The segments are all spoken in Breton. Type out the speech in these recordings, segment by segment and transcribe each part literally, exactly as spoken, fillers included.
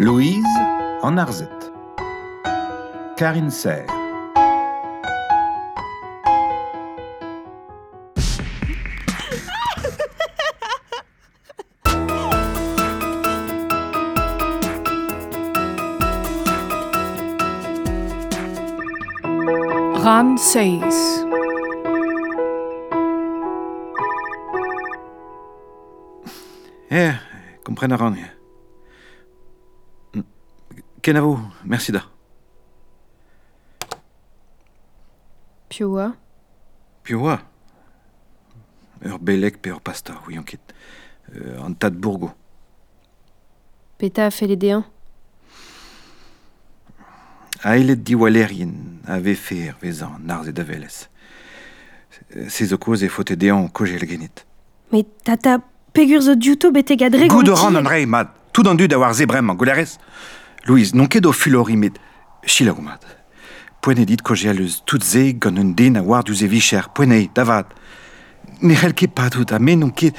Louise en Arzet. Karine Serre. Ran seis. Eh, comprenaran. Kenavo, merci da. Pioua. Pioua. Ur belek pe ur pastor, oui, on ket. Euh, an tad bourgo. Peta a fait les déens. Ailet diwalerien ave fer vezan narz e davelez. Se zo koz e fote dean kojel genit. Mais tata, pegur zo diouto bete gadre Goud ran an rei, mad. Tout an dud a war zebrem an golerez. Louise, non ket o fulori met chilag o mad. Poene dit kojel eus tout ze gant un den a war duz e vicher. Poene, davad. Ne c'hell ket padout, a men non ket...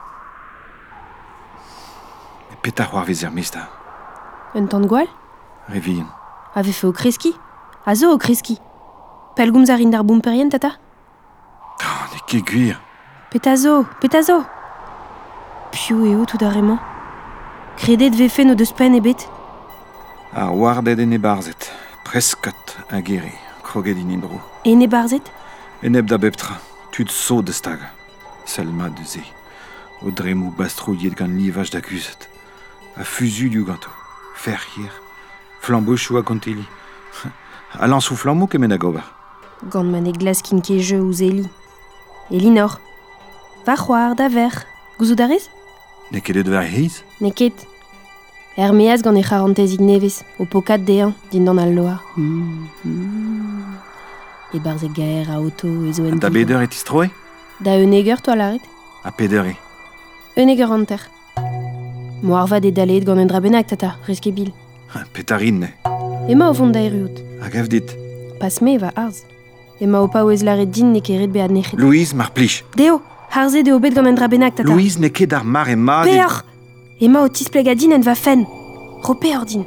Petar war vezer mesta. Un tan gwal Revien. Ave fait au kreski. A zo au kreski. Pelgoum zarin d'ar boumperien, tata Oh, ne ket gwir. Petazo, petazo. Piou eo tout arrement. Kredet vefe no deus pen ebet. Ar wardet en e barzet. Preskot a gere. Kroget in indro. E ne barzet Eneb da beptra. Tud so de stag. Selma de ze. O dremou bastrouillet gant livaj da guzet. A fuzu du ganto. Fer hier. Flambeau choua konteli. Alan sou flambeau kemen a gobar. Gant man e glaskin ke je ou zeli. Elinor. Va c'hoar da ver. Gouzou darez Ne kedet ver heiz? Ne ket. Hermeaz gant e charantez ignevez. O pokat dean, din dan al loar. Mm, mm. E barzet gaer a auto e zo en Da beder et istroe? Da eneger to a laret. A peder e. Eneger an ter. Mo arvad e dalet gant un drabenak, tata, reske bil. Petarin ne. Ema o fond da erut. A gav dit. Pas me va arz. Ema o pa oez laret din ne keret bead nechet. Louise mar plij. Deo, harze de obet gant un drabenak, tata. Louise ne ket ar mar e mad. e- Peor Ema o tispleg a din en va fen. Ropeor din.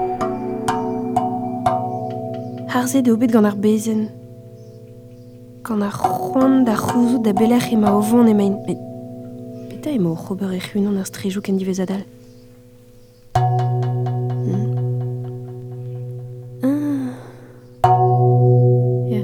Harze de obet gant ar bezen. Gant ar c'hoant da c'houzout da belec'h ema o vont emaint. Met peta ema o c'hober e c'hunon ar strejou ken divez adal. Hmm. Ah. Ya.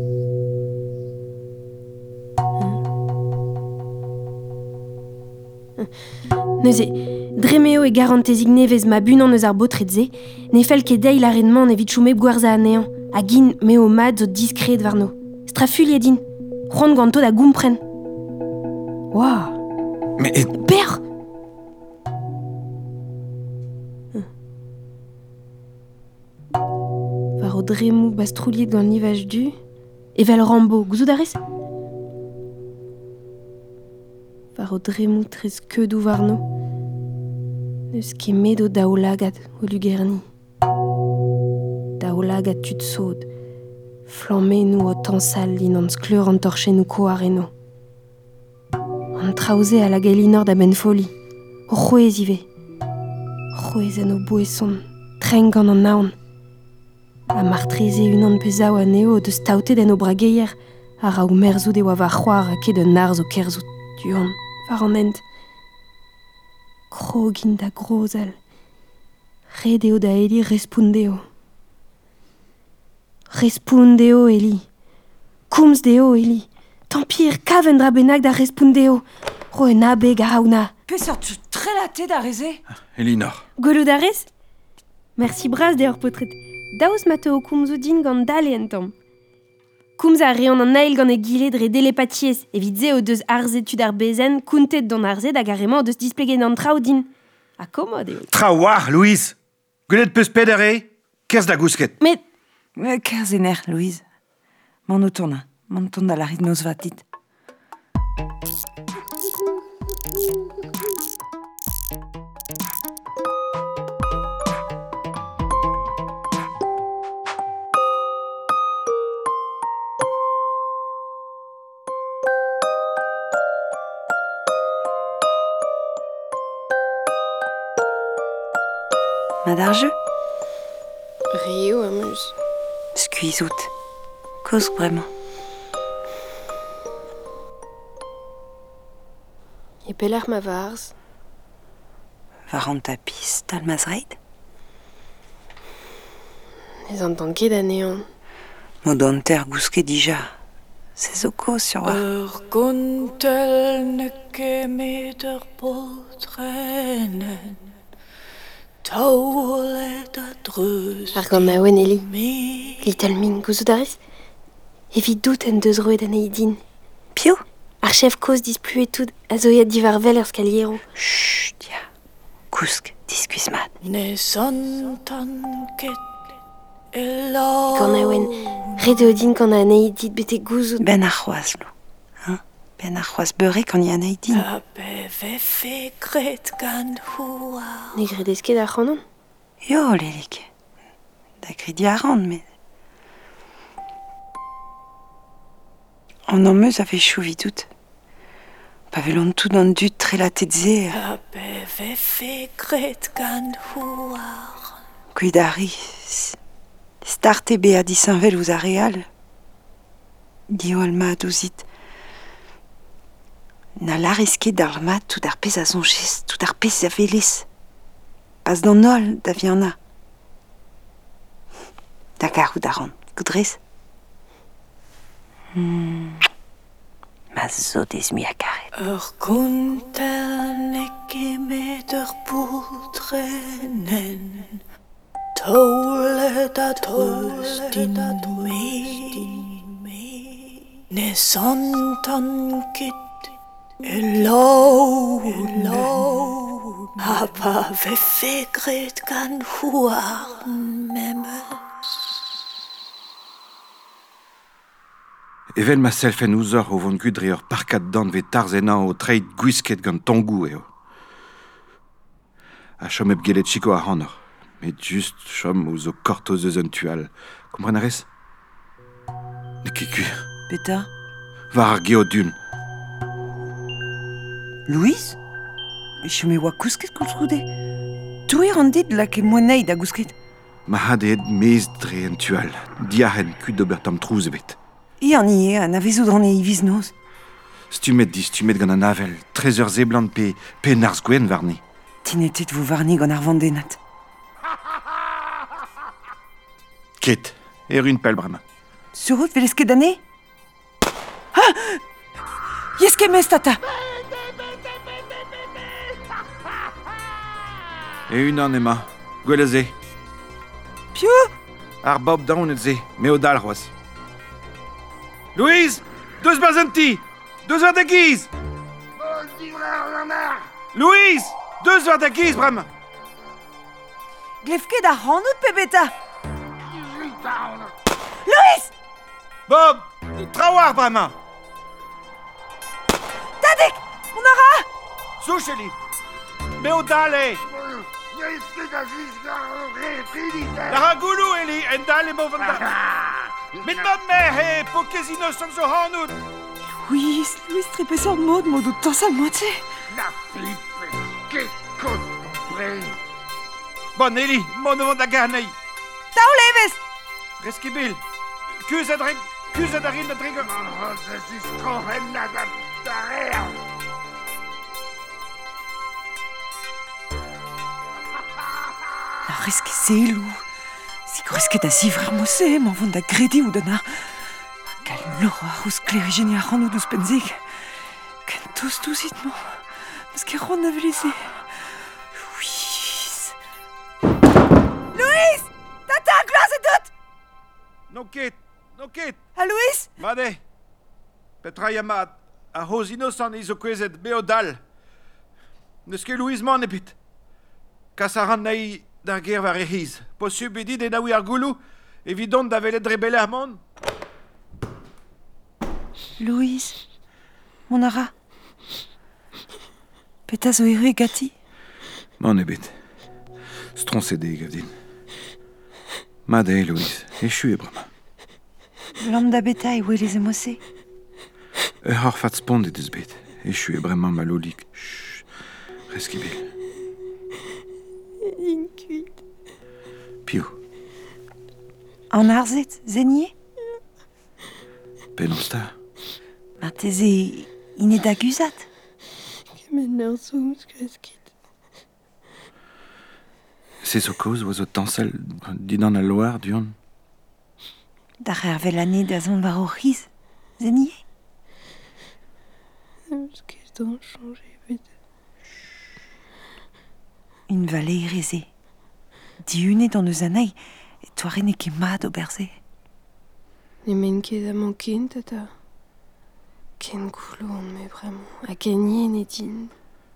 Neuze, dremeo e garantez ignevez ma bunan eus ar botredze, ne fel ket dei l'arenman evit choumep gwarza anean, a gin meo mad zo diskret varno. Strafulie din, c'hoant ganto da goumpren. Ouah, Mais et... per Var o dremou bastrouliet gant livaj du, evel Rambo, gouzou darez Var o dremou trez keudou varno, neus ket medo daoulagad o lugerni. Daoulagad tud sod, flamme nou o tansal din an skleur an torche nou koareno. An traoze a la galinor da ben foli, o c'houez ive. C'houez en o bouesson, treng gant an naon. A martreze unan pezao a neo de staoutet en o brageier, a ra ou merzout e oa va c'hoar a ket un arz o kerzout duan, var an ent. Krogin da grozal, redeo da eli respondeo. Respondeo eli, koums deo eli, tampir kav en drabenak da respondeo, ro en abe garaouna. Peseurt tu trelaté da reze? Elinor. Golou darez Merci braz de ur potret. Daouz mateo koumzou din gant dale en tamm. Koumz a reon an ail gant e gile dre delepatiez, evit ze o deus arzetud ar bezen, kountet don arze da garement o deus displegen an trao din. A komod eo. Tra war, Louise. Gwelet peus peder e? Kerz da gousket. Met Euh, Kerzener, Louise. Mon autona, mon ton da la rit vatit. Ma d'arjeu Rio amuse. Skuizout. Cause vraiment. Et peller ma varz. Varant tapis, talmazreid. Les entendez d'anéant. Modonter gousket dija. C'est zoko sur wa. Er guntel neke meter potrennen. Taulet a dreus. Ar gant naouen eli. Me. Little min gouzout ariz. Evit dout en deus roet aneidin. Pio? Ar chef koz displuet tout a zoiat divar vel ur skaliero. Chut, ya. Gousk, diskuis mat. Ne santan ket. Ela. Gant naouen, red eo din gant a aneidit bete gouzout. Ben ar c'hoaz, lo. Hein? Ben ar c'hoaz beurre kan ya neidin. A be ve fe gret gan houar. Ne gredesket ar c'hanon. Yo, lelik. Da gredi a rand, mais... An emmeus a fe chouvi tout. Pa velon tout an dut tre la tetze. A be ve fe gret gan houar. Cuidari. Starte be a disanvel ouz a real. Dio al mat ouzit. Na lareske d'ar mat tout ar pez a zonches, tout ar pez a velez. Pas d'an ol da viana. Da garou da ran, goudrez? Hmm. Ma zo des mi a karet. Er guntel neke meter potrennen. Taulet a dreus din me. Ne santan ket elo. Ha pa ve fe gret gan houar memes. Evel ma selfen ouzor o vont gudre ur parkat dan ve tarzenan o treid gwisket gant tongou eo. A chom eb gelet chiko a hanor. Met just chom o zo kort o zeus un tual. Komprenarez? Ne ket kuir. Peta? Var ar geo dun. Louise? Chome oa kousket koulskoude. Touir an dit la ke moanei da gousket. Ma had ed mez dre un tual. Diahen kud d'ober tam trouz ebet. I an ie, an a vezout an e iviz noz. Stumet di stumet gant an avel. Trezeur zeblant pe, pe nars gwen varni. Tinetet vo varni gant ar vandenat. Ket, er un pel brama. Surut velesket d'ane? Ah! Yeske mez, tata! E un an ema, gwell ze. Pio? Ar bob daon et ze, me o dal c'hoaz. Louise! Deus barzenti! Deus war da giz! Louise! Deus war da giz, bram! Glefket ar c'hanout pe beta! Louise! Bob! Trawar, brama! Tadek! On ara! Soucheli! Me o dal e! La ragoulou, Eli, en dal e mo van da... Met ma mère, he, po kezino som zo hanout! Louise, Louise trepez ur mod, mod o tansal moite. La flippe, ket koz brein. Bon, Eli, mon o vant da garnei. Tao leves! Reski bil. Kuz a dreg... Kuz a darin da dreg... Man hos es is kohen na da darer. La reske zelou. Si gresket a zivrer mosse, m'en vont da gredi ou dana. Gal lor a rouz klerigeni a ran ou deus penzig. Ken tost touzit mo. Meus ket ron na veleze. Louise. Louise! Tata, glas e dot! No ket, no ket. A Louise? Made. Petra yamad. A hoz inosan izo kwezet me o dal. Neus ket Louise man ebet. Kas a ran nahi d'ar ger war e hiz. Posub edit e naoui ar goulou, evidon da velet drebele ar mon. Louise. Mon ara. Peta zo ere gati. Man ebet. Stronsede gavdin. Made, Louise. Echu e brama. Lam da beta e welez e mosse. E har fat spond e deus bet. Echu e bremañ malolik. Chut. Reski bil. Une cuite. An arzet, zenier? Penomsta. Mar teze ine da guzat? Kemen ur zouz kreskit. C'est zo koz oa zo tansel dinan a loar duon. Da c'her vel ane da zon war o riz, zenier? Eus ket d'an chanje bet. Une vallée reze. Diune dans eus anei, et toare ne ket mat o berze. Ne men ket amañ ken, tata. Ken goulon, me bremañ. A gagné ne din.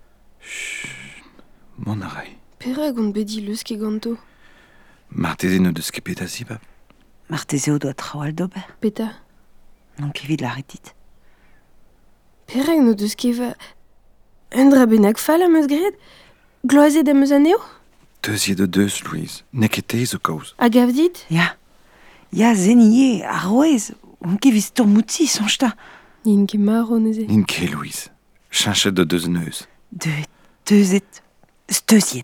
Mon arrei. Perak on bedi leus ket ganto. Mar teze ne deus ket peta si, pap. Mar teze o doa trawal d'ober. Peta. Non ket vid la retit. Perak no deus ket va... Un dra bennak fall am eus gred? Gloazet am eus aneo? Deuziet de deus, Louise. Ne ket te zo koz. A gav dit? Ya. Ya zenier, a roez, on ket viz tourmouti, sonjta. Nin ket mar on eze. Nin ket, Louise. Chanchet de deus neus. De deuzet, steuziet.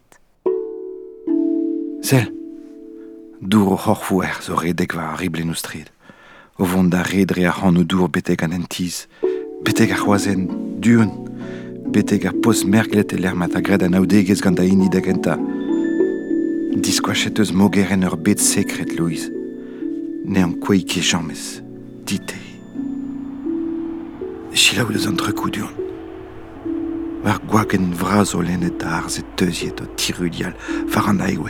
Sel. Dour o c'horfouer zo redek va a riblen o strid. O vont da redre a c'han o dour betek an entiz. Betek ar c'hoazen, duon. Betek ar pos merklet e lermat a gred an aoudegez gant a ini da genta. Diskoachet eus mogeren ur bet sekret, Louise. Ne an kwei ket jammez. Dite. Chilaou deus an trekou duon. War gwaken vraz o lennet da arzet teuziet o tirudial war an aiwe.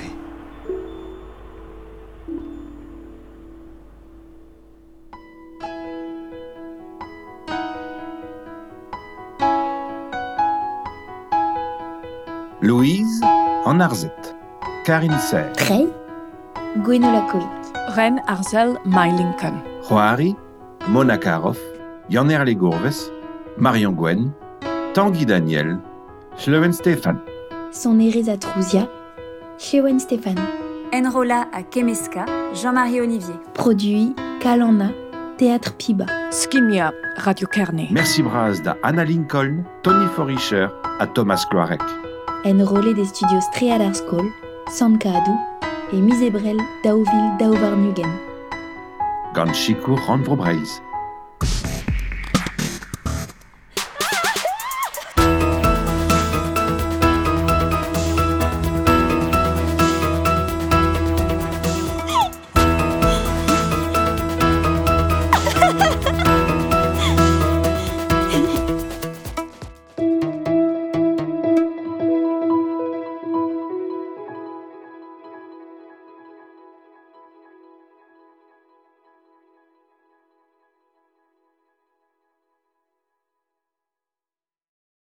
Louise en arzet. Karin Serre. Trey, Gwenola Koik. Ren Arzel Mai-Lincoln. Joari, Mona Karov, Yanner Legourves, Marion Gwen, Tanguy Daniel, Schlewen Stéphane. Son Ereza Trouzia, Shewen Stéphane. Enrola à Kemeska, Jean-Marie Olivier. Produit Kalana, Théâtre Piba. Skimia, Radio Kearney. Merci braz da Anna Lincoln, Tony Forischer à Thomas Cloarec. Enrôlé des studios Strealar School, Sankaadu et Misebrel Dauville Dauvarnugen. Gant Chicour Randvro Breiz.